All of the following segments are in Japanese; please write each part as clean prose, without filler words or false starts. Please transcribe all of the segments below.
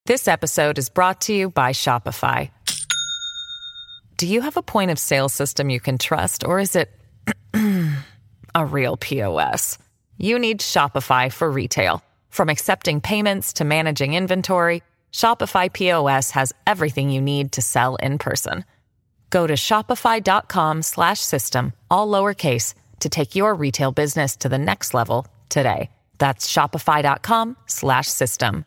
This episode is brought to you by Shopify. Do you have a point of sale system you can trust, or is it a real POS? You need Shopify for retail. From accepting payments to managing inventory, Shopify POS has everything you need to sell in person. Go to shopify.com/system, all lowercase, to take your retail business to the next level today. That's shopify.com/system.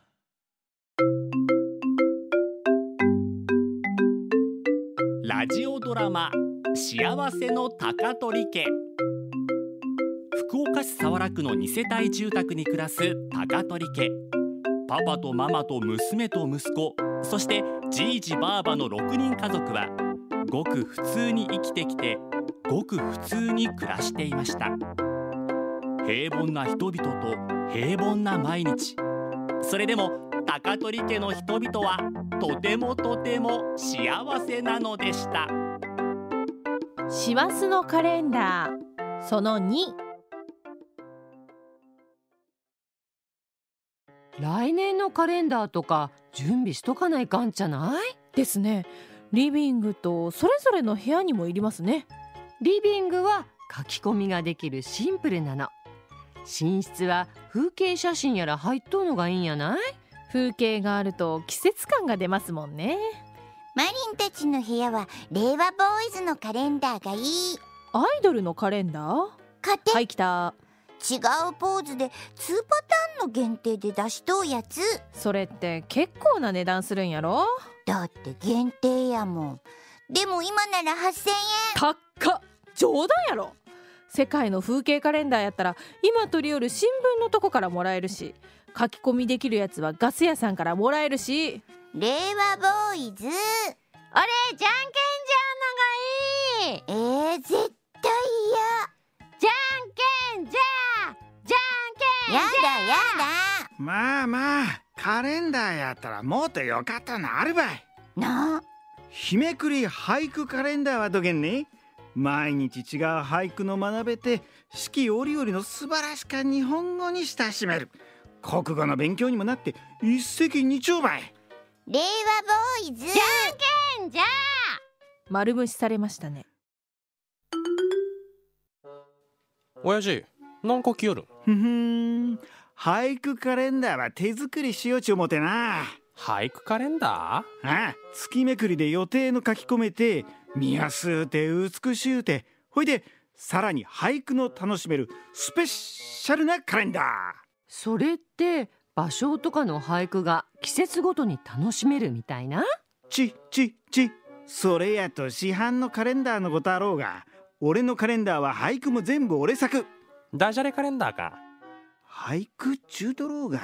ラジオドラマ幸せの高取家。福岡市早良区の2世帯住宅に暮らす高取家。パパとママと娘と息子、そしてじいじばあばの6人家族はごく普通に生きてきて、ごく普通に暮らしていました。平凡な人々と平凡な毎日。それでも高取家の人々はとてもとても幸せなのでした。 師走のカレンダーその2。 来年のカレンダーとか準備しとかないかんじゃないですね。リビングとそれぞれの部屋にもいりますね。 リビングは書き込みができるシンプルなの。寝室は風景写真やら入っとうのがいいんやない？ 風景があると季節感が出ますもんね。 マリンたちの部屋は令和ボーイズのカレンダーがいい。 アイドルのカレンダー？ 買って。 はい来た。 違うポーズで2パターンの限定で出しとうやつ。 それって結構な値段するんやろ？ だって限定やもん。でも今なら8000円。 高っ。冗談やろ。世界の風景カレンダーやったら今取り寄る新聞のとこからもらえるし、書き込みできるやつはガス屋さんからもらえるし。 令和ボーイズ。 俺じゃんけんじゃんのがいい。 絶対嫌。 じゃんけんじゃじゃんけんじゃ。 やだやだ。 まあまあ、カレンダーやったらもっとよかったのあるばいな。 日めくり俳句カレンダーはどげんね。毎日違う俳句の学べて、四季折々の素晴らしか日本語に親しめる。国語の勉強にもなって一石二鳥ばい。 令和ボーイズ。 じゃんけんじゃ。 丸無視されましたね。 親父、何個来よるん？俳句カレンダーは手作りしようち思てな。 俳句カレンダー？ ああ、月めくりで予定の書き込めて、見やすうて美しうて、ほいでさらに俳句の楽しめるスペシャルなカレンダー。 それって芭蕉とかの俳句が季節ごとに楽しめるみたいな？ それやと市販のカレンダーのことあろうが、俺のカレンダーは俳句も全部俺作。 ダジャレカレンダーか。 俳句中とろうが。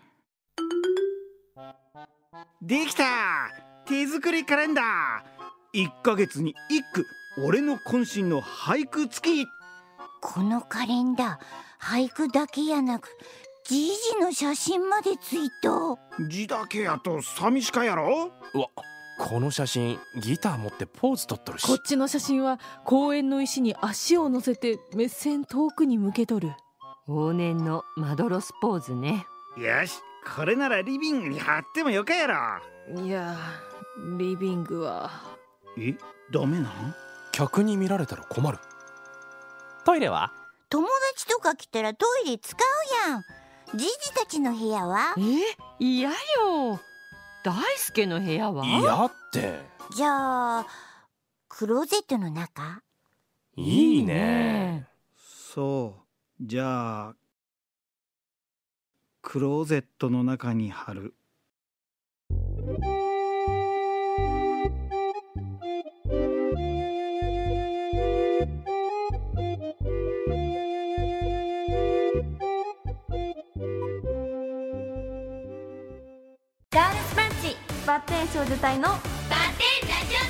できた！手作りカレンダー。1ヶ月に1句、俺の渾身の俳句付き。 このカレンダー、俳句だけやなくじいじの写真までついと。 字だけやと寂しかやろ。 うわ、この写真ギター持ってポーズ取っとるし。 こっちの写真は公園の石に足を乗せて目線遠くに向けとる。 往年のマドロスポーズね。 よし、これならリビングに貼ってもよかやろ。 いや、リビングは。 ダメなん？ 客に見られたら困る。トイレは？ 友達とか来たらトイレ使うやん。じいじたちの部屋は？ 嫌よ。大輔の部屋は？ 嫌って。 じゃあクローゼットの中？ いいね。 そう、じゃあクローゼットの中に貼る。 ガールズパンチバッテン少女隊のバッテンラジ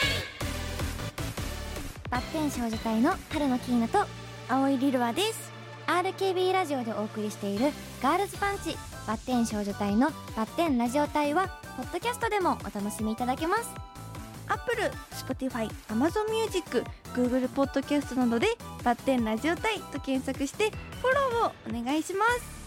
オ隊。バッテン少女隊の春野キーナと青井リルワです。 RKB ラジオでお送りしているガールズパンチバッテン少女隊のバッテンラジオ隊はポッドキャストでもお楽しみいただけます。 Apple、Spotify、Amazon Music、Google ポッドキャストなどでバッテンラジオ隊と検索してフォローをお願いします。